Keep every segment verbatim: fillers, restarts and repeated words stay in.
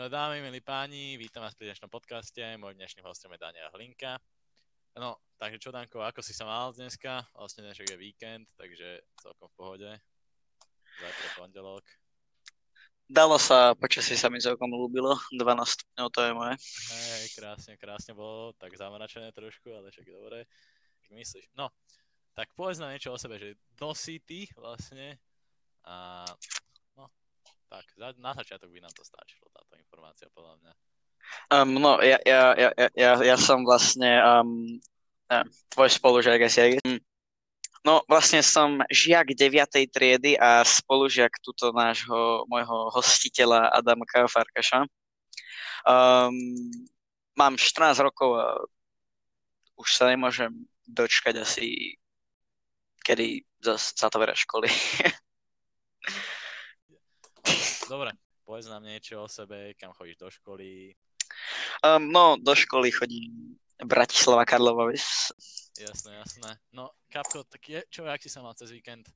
No dámy, milí páni, vítam vás pri dnešnom podcaste. Môj dnešným hostom je Daniel Hlinka. No, takže čo, Danko, ako si sa mal dneska? Vlastne dnešok je víkend, takže celkom v pohode. Zajtra pondelok. Dalo sa, počasie sa mi celkom ľúbilo. dvanásť stupňov, to je moje. Hej, krásne, krásne bolo, tak zamračené trošku, ale však dobre. Tak myslíš? No, tak povedz nám niečo o sebe, že kto si ty vlastne a no, tak na začiatok by nám to stačilo, táto informácia podľa mňa. Um, no, ja, ja, ja, ja, ja ja som vlastne um, uh, tvoj spolužiak asi. Um, no, vlastne som žiak deviatej triedy a spolužiak tuto nášho, môjho hostiteľa Adamka Farkaša. Um, mám štrnásť rokov a už sa nemôžem dočkať asi, kedy zase zatvoria školy. Dobre, povedz nám niečo o sebe, kam chodíš do školy. Um, no, do školy chodím Bratislava Karlova Ves. Jasné, jasné. No, Kapko, tak je, čo, jak si sa mal cez víkend?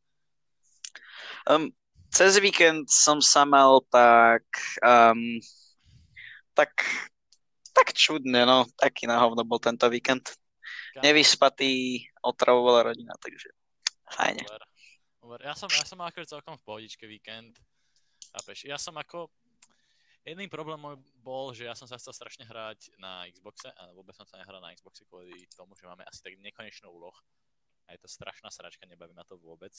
Um, cez víkend som sa mal tak, um, tak, tak čudne, no, taký na hovno bol tento víkend. Kam? Nevyspatý, otravovala rodina, takže fajne. Dobre, dobre. Ja som, ja som mal akože celkom v pohodičke víkend. Chápeš? Ja som ako... Jedný problém môj bol, že ja som sa chcel strašne hrať na Xboxe a vôbec som sa nehral na Xboxe kvôli tomu, že máme asi tak nekonečnú úloh. A je to strašná sračka, nebaví ma to vôbec.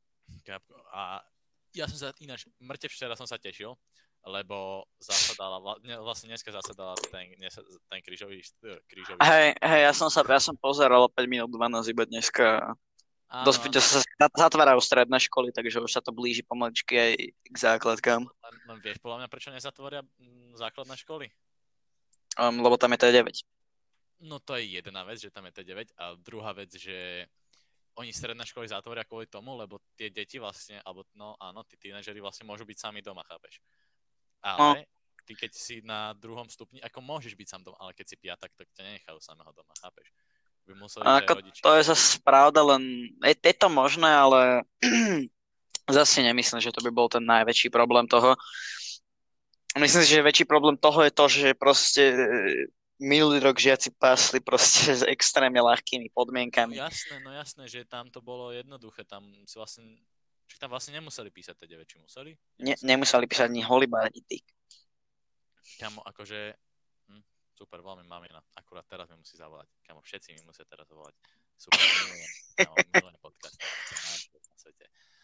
A ja som sa ináč, mŕte včera som sa tešil, lebo zasadala, vlastne dneska zasadala ten, ten krížový, krížový... Hej, hej, ja som sa, ja som pozeral päť minút dvanásť iba dneska. Áno, Dosť sa zatvárajú stredné školy, takže už sa to blíži pomaličky aj k základkám. Len, len vieš podľa mňa, prečo nezatvoria základné školy? Um, lebo tam je té deväť. No to je jedna vec, že tam je té deväť a druhá vec, že oni stredné školy zatvoria kvôli tomu, lebo tie deti vlastne, alebo no áno, tí tínedžeri vlastne môžu byť sami doma, chápeš? Ale no. Ty keď si na druhom stupni, ako môžeš byť sám doma, ale keď si piatak, tak ťa nenechajú samého doma, chápeš? By museli Ako, rodiči... to je zase pravda, len je, je to možné, ale zase nemyslím, že to by bol ten najväčší problém toho. Myslím si, že väčší problém toho je to, že proste minulý rok žiaci pásli proste s extrémne ľahkými podmienkami. No jasné, no jasné, že tam to bolo jednoduché, tam si vlastne, či tam vlastne nemuseli písať té deväť, či museli? Nemuseli, ne, nemuseli písať ani holibá, ani tyk. Kamo, akože, hm, super, veľmi mamina, akurát teraz mi musí zavolať, kamo, všetci mi musia teraz zavolať, super, milujem, kamo, milujem podcast, na svete.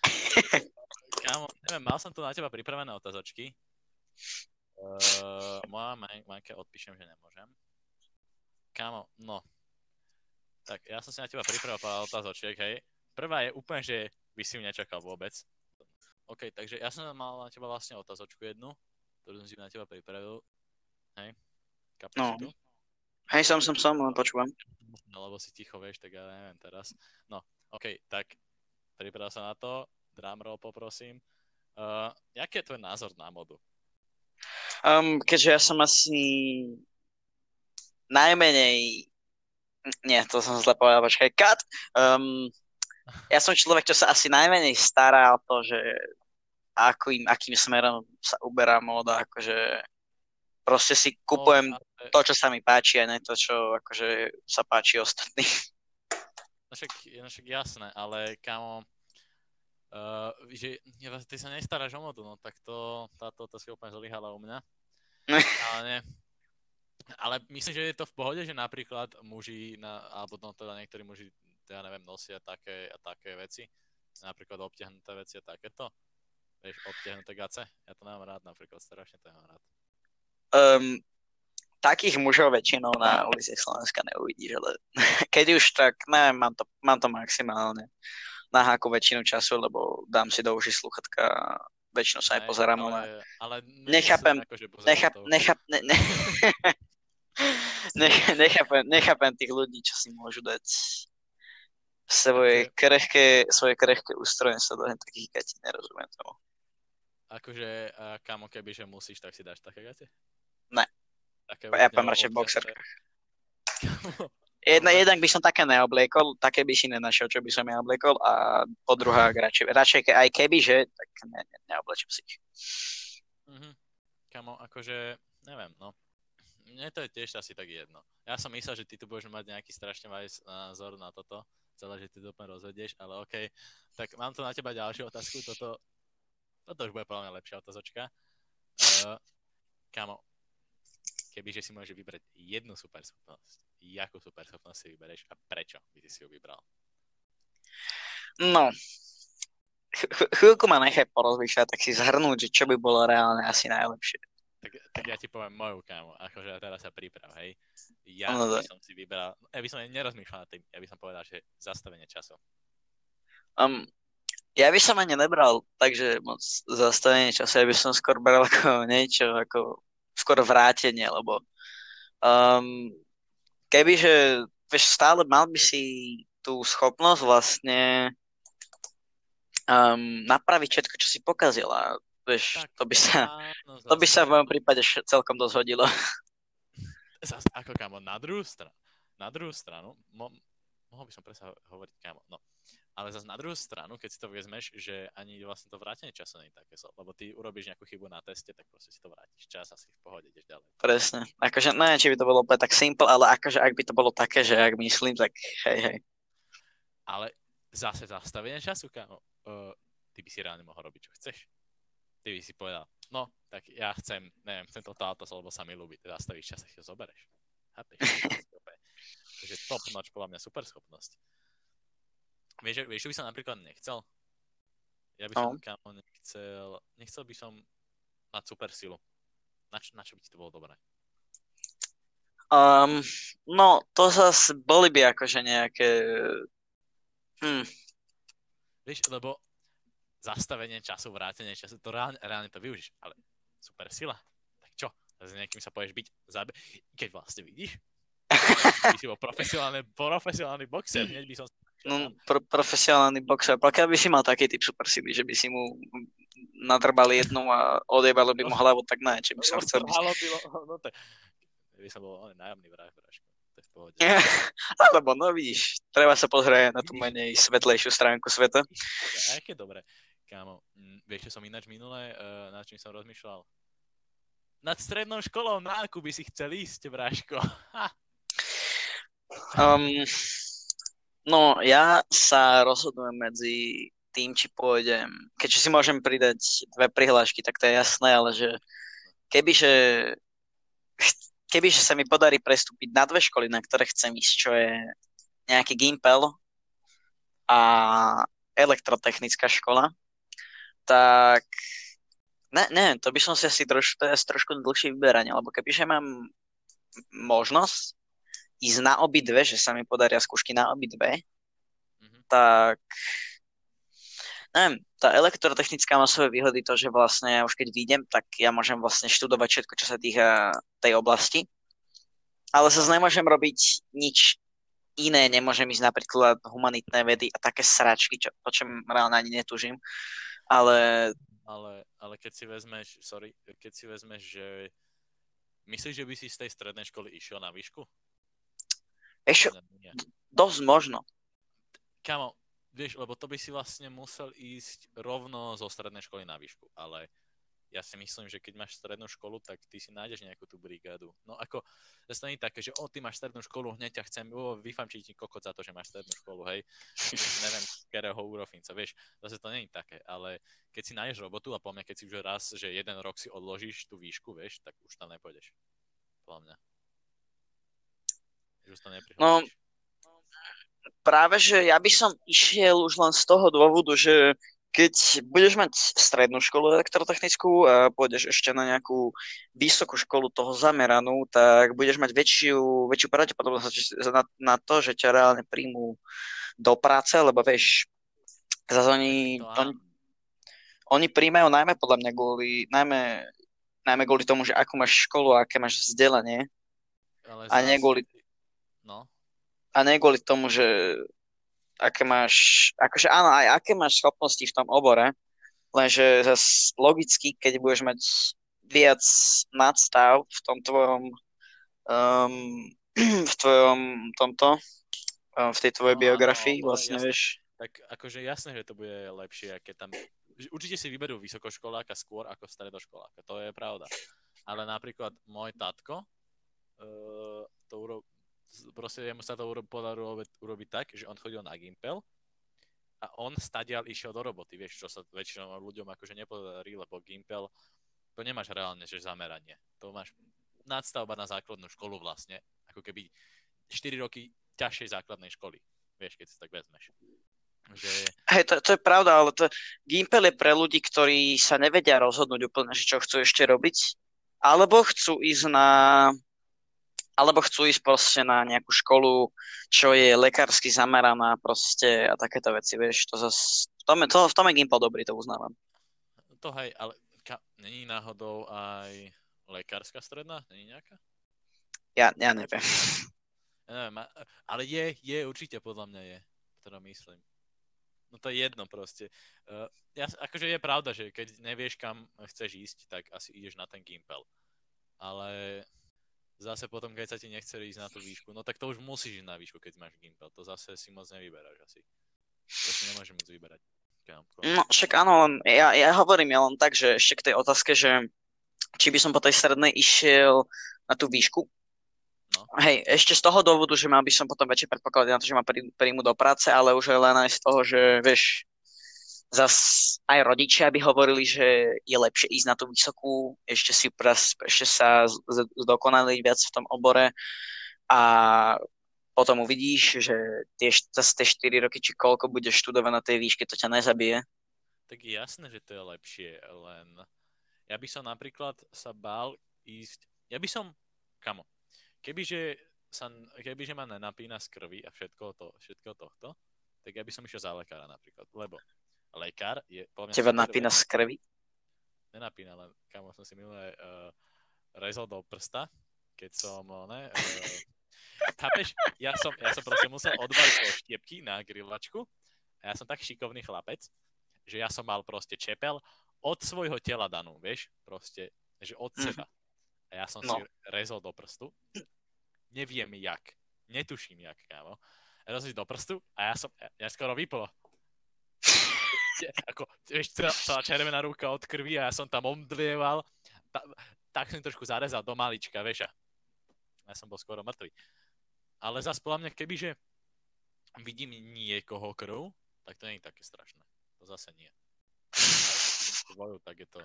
Kamo, neviem, mal som tu na teba pripravené otázočky, uh, moja Majke odpíšem, že nemôžem. Kámo, no. Tak ja som si na teba pripravil pár otázočiek, hej. Prvá je úplne, že by si ju nečakal vôbec. OK, takže ja som mal na teba vlastne otázočku jednu, ktorú som si na teba pripravil. Hej. Kapíš no. si tu? Hej, som, som, som, len počúvam. No, lebo si ticho, vieš, tak ja neviem teraz. No, OK, tak pripravil sa na to. Drumroll poprosím. Uh, jaký je tvoj názor na modu? Um, keďže ja som asi najmenej... Nie, to som zle povedal, počkaj, cut. Um, ja som človek, čo sa asi najmenej stará o to, že akým, akým smerom sa uberá móda, akože proste si kupujem no, ale... to, čo sa mi páči, a nie to, čo akože sa páči ostatným. No však, no však jasné, ale kámo, uh, že ty sa nestaráš o modu, no tak to, táto otázka úplne zlyhala u mňa. Ale nie. Ale myslím, že je to v pohode, že napríklad muži, na, alebo no teda niektorí muži, ja neviem, nosia také a také veci, napríklad obtiahnuté veci a takéto. Vieš, obtiahnuté gace. Ja to nemám rád, napríklad strašne to nemám rád. Um, takých mužov väčšinou na uliciach Slovenska neuvidíš, ale keď už tak, neviem, mám to, mám to maximálne na háku väčšinu času, lebo dám si do uši sluchatka a väčšinou sa aj pozerám. Ale, ale nechápem, ako, necháp, necháp, ne, ne, ne, nechápem, nechápem tých ľudí, čo si môžu dať svoje krehké, svoje krehké ústroje sa do takých gatí, nerozumiem tomu. Akože, kamo, keby, že musíš, tak si dáš také gate? Ne. Také ja poviem radšej v boxerkách. Jedna, jednak by som také neobliekol, také by si nenašiel, čo by som ja obliekol, a po druhá, radšej, radšej aj keby, že, tak ne, ne, neoblečím si ich. Mhm. Kamo, akože, neviem, no. Mne to je tiež asi tak jedno. Ja som myslel, že ty tu budeš mať nejaký strašne majs názor na toto, celé, že ty to úplne rozvedieš, ale okej. Okay. Tak mám tu na teba ďalšiu otázku, toto, toto už bude podľa mňa lepšia otázočka. Uh, Kámo, kebyže si môžeš vybrať jednu superschopnosť, jakú superschopnosť si vybereš a prečo by si si ju vybral? No, ch- chvíľku ma nechaj porozmýšľať, tak si zhrnúť, že čo by bolo reálne asi najlepšie. Tak, tak ja ti poviem moju, kámo, akože teraz sa priprav, hej. Ja No, by daj. som si vybral, ja by som aj nerozmýšľal nad tým, ja by som povedal, že zastavenie času. Um, ja by som ani nebral, takže moc zastavenie času, ja by som skôr bral ako niečo, ako skôr vrátenie, lebo um, kebyže, vieš, stále mal by si tú schopnosť vlastne um, napraviť všetko, čo si pokazil a vieš, Tak, to by sa, áno, to by sa zase. v mojom prípade š- celkom dosť hodilo. Zas, ako kámo, na druhú stranu, na druhú stranu, mo, mohol by som presne hovoriť kámo, no. Ale zase na druhú stranu, keď si to vezmeš, že ani vlastne to vrátenie času nie je také zlo, lebo ty urobíš nejakú chybu na teste, tak proste si to vrátiš čas a si v pohode, ideš ďalej. Presne. Akože, neviem, či by to bolo úplne tak simple, ale akože ak by to bolo také, že ak myslím, tak hej, hej. Ale zase zastavenie času, kámo, uh, ty by si reálne mohol robiť, čo chceš. Ty by si povedal, no, tak ja chcem, neviem, chcem toto auto, lebo sa mi ľúbi, teda zastavíš čas a si ho zobereš. Chápeš? Takže top notch, podľa mňa super schopnosť. Vieš, vieš, čo by som napríklad nechcel? Ja by som, No. kámo, nechcel, nechcel by som mať super silu. Na čo, na čo by ti to bolo dobré? Um, no, to zase boli by akože nejaké... Hm, Vieš, lebo zastavenie času, vrátenie času, to reálne, reálne to využíš, ale super sila, tak čo? S niekým sa poješ byť, zabe... keď vlastne vidíš, by si bol profesionálny, profesionálny boxer, hneď by som... no, pro, profesionálny boxer. Pokiaľ by si mal taký typ super sily, že by si mu nadrbali jednu a odjebalo by mu hlavu, tak ne, či by som chcel byť. Bylo, no to... by som bol ale nájomný vrah, bráško. To je v pohode. Alebo, no vidíš, treba sa pozrieť na tú menej svetlejšiu stránku sveta. A aké dobre, kámo. Mm, vieš, čo som ináč minulé, uh, nad čím som rozmýšľal? Nad strednou školou, na akú by si chcel ísť, bráško? um, no, ja sa rozhodujem medzi tým, či pôjdem, keďže si môžem pridať dve prihlášky, tak to je jasné, ale že kebyže kebyže sa mi podarí prestúpiť na dve školy, na ktoré chcem ísť, čo je nejaký Gimpel a elektrotechnická škola, tak ne, ne, to by som si asi troš, to je asi trošku dlhšie vyberanie, lebo kebyže mám možnosť ísť na obidve, že sa mi podaria skúšky na obidve, Mhm. tak neviem, tá elektrotechnická má svoje výhody to, že vlastne ja už keď vyjdem, tak ja môžem vlastne študovať všetko, čo sa týka tej oblasti, ale zase nemôžem robiť nič iné, nemôžem ísť napríklad humanitné vedy a také sračky, čo, po čom reálne ani netúžim, ale Ale, ale keď si vezmeš, sorry, keď si vezmeš, že myslíš, že by si z tej strednej školy išiel na výšku? ešte Nie. dosť možno. Kámo, vieš, lebo to by si vlastne musel ísť rovno zo strednej školy na výšku, ale ja si myslím, že keď máš strednú školu, tak ty si nájdeš nejakú tú brigádu. No ako, zase to nie je také, že o, ty máš strednú školu, hneď ťa chcem, o, vyfamčiť ti kokot za to, že máš strednú školu, hej. Neviem, z ktorého úrofinca, vieš, zase to nie je také, ale keď si nájdeš robotu a po mňa, keď si už raz, že jeden rok si odložíš tú výšku, vieš, tak už tam nepôjdeš. Podľa mňa. Už to neprihľadíš. No, práve, že ja by som išiel už len z toho dôvodu, že keď budeš mať strednú školu elektrotechnickú a pôjdeš ešte na nejakú vysokú školu toho zameranú, tak budeš mať väčšiu, väčšiu pravdepodobnosť na, na to, že ťa reálne príjmú do práce, lebo vieš, zase oni, To oni, áno. oni príjmajú najmä podľa mňa kvôli, najmä, najmä kvôli tomu, že akú máš školu a aké máš vzdelanie Ale a nie zas- kvôli, No, a nie kvôli tomu, že aké máš, akože áno, aj aké máš schopnosti v tom obore, lenže zase logicky, keď budeš mať viac nadstav v tom tvojom um, v tvojom tomto um, v tej tvojej No, áno, biografii, ale vlastne jasné. vieš. tak akože jasné, že to bude lepšie, keď tam... Určite si vyberú vysokoškoláka skôr ako stredoškoláka, to je pravda. ale napríklad môj tatko, uh, to uro... proste jemu sa to uro... podarilo urobiť tak, že on chodil na Gimpel a on stadiaľ išiel do roboty, vieš, čo sa väčšinou ľuďom akože nepodarí, lebo Gimpel, to nemáš reálne, že zameranie. To máš nadstavba na základnú školu vlastne, ako keby štyri roky ťažšej základnej školy, vieš, keď si tak vezmeš. Že... Hej, to, to je pravda, ale to, Gimpel je pre ľudí, ktorí sa nevedia rozhodnúť úplne, že čo chcú ešte robiť, alebo chcú ísť na alebo chcú ísť proste na nejakú školu, čo je lekársky zameraná proste a takéto veci, vieš, to zas, v tom je, to, v tom je Gimpel dobrý, to uznávam. To hej, ale ka, není náhodou aj lekárska stredná? Není nejaká? Ja, ja neviem. Ja neviem, ale je, je určite podľa mňa je, ktorá myslím. No to je jedno proste. Uh, ja, akože je pravda, že keď nevieš, kam chceš ísť, tak asi ideš na ten Gimpel. Ale zase potom, keď sa ti nechce ísť na tú výšku, no tak to už musíš ísť na výšku, keď máš Gimpel. To zase si moc nevyberáš asi. To si nemôžeš moc vyberať. No však áno, len ja, ja hovorím ja len tak, že ešte k tej otázke, že či by som po tej strednej išiel na tú výšku. No. Hej, ešte z toho dôvodu, že mal by som potom väčšie predpoklady na to, že ma príjmu do práce, ale už len aj z toho, že vieš, zas aj rodičia by hovorili, že je lepšie ísť na tú vysokú, ešte si pras, ešte sa zdokonaliť viac v tom obore a potom uvidíš, že tie, zase tie štyri roky, či koľko budeš študovať na tej výške, to ťa nezabije. Tak je jasné, že to je lepšie, len ja by som napríklad sa bál ísť, ja by som, kamo, Kebyže, sa, kebyže ma nenapína z krvi a všetko, to, všetko tohto, tak ja by som išiel za lekára napríklad, lebo lekár je... Teba napína z krvi? Nenapína, len kamo som si minulé uh, rezol do prsta, keď som, ne, uh, chápeš, ja som, ja som proste musel odbaliť do štiepky na grillačku a ja som tak šikovný chlapec, že ja som mal proste čepel od svojho tela danú, vieš, proste, že od mm. seba. A ja som no. si rezol do prstu. Neviem jak. Netuším jak, kámo. Rezol si do prstu a ja som, ja skoro vyplo. Ako, vieš, celá červená ruka od krvi a ja som tam omdlieval. Ta, tak som trošku zarezal do malička, vieš. Ja som bol skoro mŕtvy. Ale zas podľa mňa, kebyže vidím niekoho krv, tak to nie je také strašné. To zase nie. Tvoju, tak je to...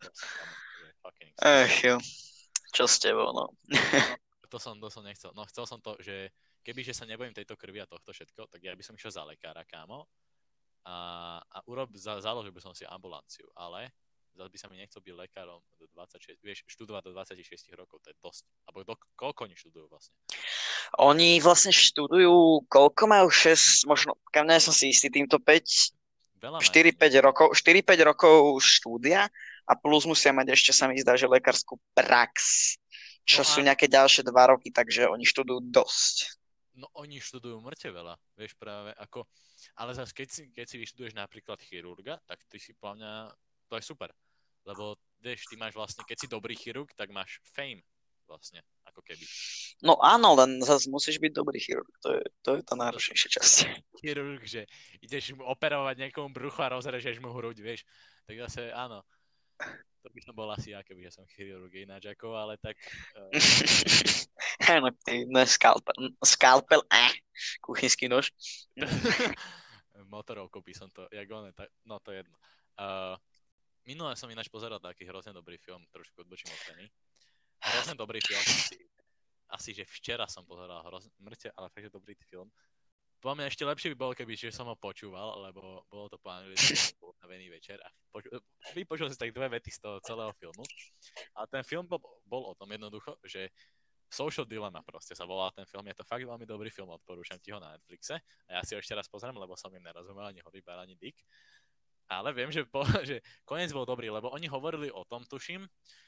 Ech jo. Čo s tebou, no. To som, to som nechcel. No chcel som to, že kebyže sa nebojím tejto krvi a tohto všetko, tak ja by som išiel za lekára, kámo. A, a urob, za, založil by som si ambulanciu, ale zase by sa mi nechcel byť lekárom do dvadsaťšesť, vieš, študovať do dvadsaťšesť rokov, to je dosť. Alebo do, koľko oni študujú vlastne? Oni vlastne študujú, koľko majú? šesť, možno, kam nie som si istý týmto päť, štyri päť rokov, štyri päť rokov štúdia a plus musia mať ešte, sa mi zdá, že lekárskú prax, čo no sú nejaké ďalšie dva roky, takže oni študujú dosť. No oni študujú mŕte veľa, vieš práve ako, ale zase keď si, keď si vyštuduješ napríklad chirurga, tak ty si podľa mňa, to je super, lebo vieš, ty máš vlastne, keď si dobrý chirurg, tak máš fame vlastne, ako keby. No áno, len zase musíš byť dobrý chirurg, to je, to je tá náročnejšia časť. Chirurg, že ideš mu operovať niekomu brucho a rozrežeš mu hruď, vieš, tak zase áno. To by som bol asi ja, keby ja som chirurg ináč ako, ale tak... Uh... no, no, skalpel, skalpel, eh, kuchynský nož. Motorovkou by som to, jak on, tak, no to je jedno. Uh, minule som ináč pozeral taký hrozne dobrý film, trošku odbočím od témy. Hrozne dobrý film, asi, asi že včera som pozeral hrozne, mŕte, ale fakt, že dobrý film. Po mňa ešte lepšie by bolo, keby že som ho počúval, lebo bolo to po anglicky, bol navený večer a poču, vypočul si tak dve vety z toho celého filmu. A ten film bol, bol o tom jednoducho, že Social Dilemma proste sa volá ten film, je to fakt veľmi dobrý film, odporúčam ti ho na Netflixe a ja si ho ešte raz pozriem, lebo som im nerozumel ani horýbar, ani dick. Ale viem, že, po, že koniec bol dobrý, lebo oni hovorili o tom, tuším,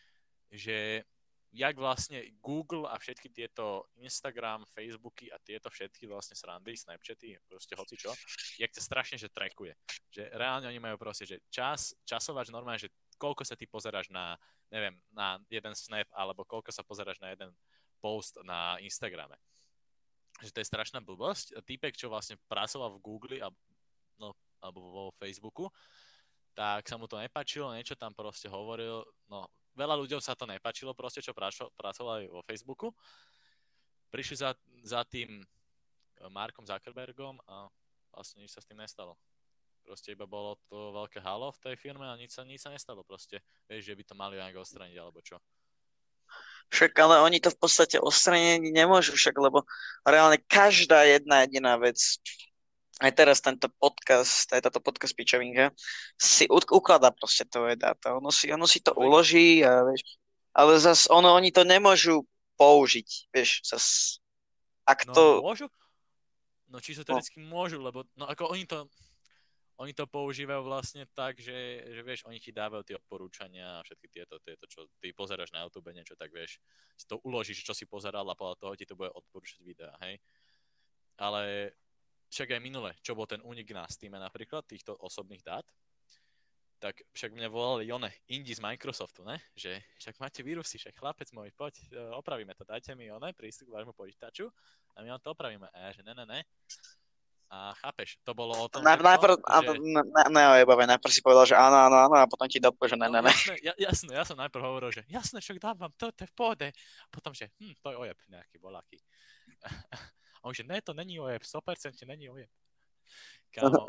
že jak vlastne Google a všetky tieto Instagram, Facebooky a tieto všetky vlastne srandy, Snapchaty, proste hocičo, jak to strašne, že trackuje. Že reálne oni majú proste, že čas, časovač normálne, že koľko sa ty pozeráš na, neviem, na jeden Snap, alebo koľko sa pozeráš na jeden post na Instagrame. Že to je strašná blbosť. Týpek, čo vlastne pracoval v Google a, no, alebo vo Facebooku, tak sa mu to nepáčilo, niečo tam proste hovoril, no veľa ľuďom sa to nepáčilo proste, čo pracovali vo Facebooku. Prišli za, za tým Markom Zuckerbergom a vlastne nič sa s tým nestalo. Proste iba bolo to veľké halo v tej firme a nič sa, nič sa nestalo proste. Vieš, že by to mali nejak odstraniť alebo čo. Však ale oni to v podstate odstraniť nemôžu však, lebo reálne každá jedna jediná vec, aj teraz tento podcast, aj táto podcast pičovinka, si u- ukladá proste tvoje dáta. Ono si, ono si to uloží a vieš, ale zas ono, oni to nemôžu použiť, vieš, zas, ak No to... môžu? No čisto teoreticky no. môžu, lebo no ako oni to... Oni to používajú vlastne tak, že, že vieš, oni ti dávajú tie odporúčania a všetky tieto, tieto, čo ty pozeráš na YouTube, niečo, tak vieš, si to uložíš, čo si pozeral a podľa toho ti to bude odporúčať videa, hej. Ale však aj minule, čo bol ten únik na Steam napríklad, týchto osobných dát, tak však mňa volali one, Indi z Microsoftu, ne? Že však máte vírusy, však chlapec môj, poď, opravíme to, dajte mi one, prístup k vášmu počítaču a my vám to opravíme. A ja, že ne, ne, ne. A chápeš, to bolo o tom, Na, všetko, najprv, že... Na, na, na, najprv si povedal, že áno, áno, áno, a potom ti dopo, že ne, no, ne, ne. Jasné, ja, jasné, ja som najprv hovoril, že jasné, však dávam, to, to je v pohode. Potom, že hm, to je ojeb nejaký, voľaký. A on že ne, to není ojeb, sto percent není ojeb. Kámo.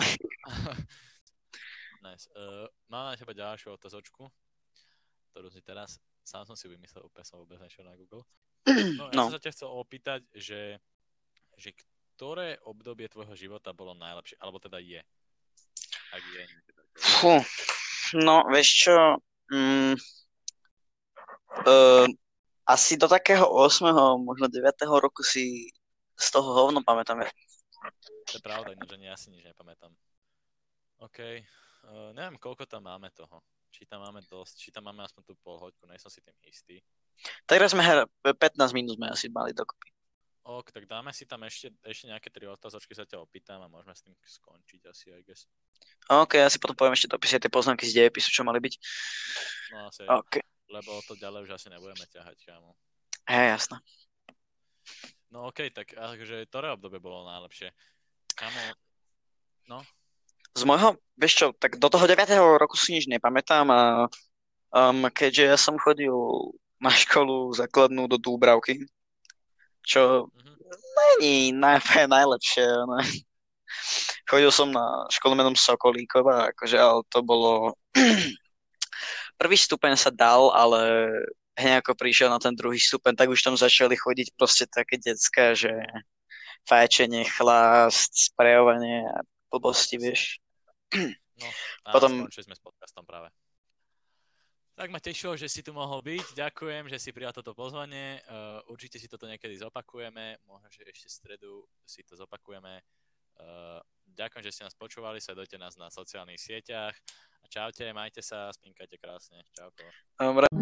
Nice. Uh, mám na teba ďalšiu otázočku, ktorú si teraz, sám som si vymyslel, úplne som vôbec nešiel na Google. No, ja no. som sa ťa chcel opýtať, že, že ktoré obdobie tvojho života bolo najlepšie, alebo teda je? Ak je. Fú, no, vieš čo, mm, uh, asi do takého ôsmeho, možno deviateho roku si z toho hovno pamätám. To je pravda, že ja si nič nepamätám. OK, uh, neviem, koľko tam máme toho. Či tam máme dosť, či tam máme aspoň tú polhoďku, nie som si tým istý. Teraz sme her, pätnásť minút sme asi mali dokopy. Ok, tak dáme si tam ešte, ešte nejaké tri otázočky, sa ťa opýtam a môžeme s tým skončiť asi, I guess. OK, ja si potom poviem ešte dopisie tie poznámky z dejepisu, čo mali byť. No asi, okay. Lebo to ďalej už asi nebudeme ťahať, kámo. Hej, jasné. No ok, tak akože ktoré obdobie bolo najlepšie? Kámo, no? Z môjho, vieš čo, tak do toho deviateho roku si nič nepamätám a um, keďže ja som chodil na školu základnú do Dúbravky, čo mm-hmm. není naj, najlepšie. Ne? Chodil som na školu menom Sokolíkova, akože, ale to bolo... Prvý stupeň sa dal, ale hneď ako prišiel na ten druhý stupeň, tak už tam začali chodiť proste také decká, že fajčenie, chlast, sprejovanie a blbosti, vieš. No, a potom... skončili sme s podcastom práve. Tak ma tešilo, že si tu mohol byť. Ďakujem, že si prijal toto pozvanie. Uh, určite si toto niekedy zopakujeme. Možno, že ešte v stredu si to zopakujeme. Uh, ďakujem, že ste nás počúvali. Sledujte nás na sociálnych sieťach. A čaute, majte sa, spinkajte krásne. Čauko. Dobre.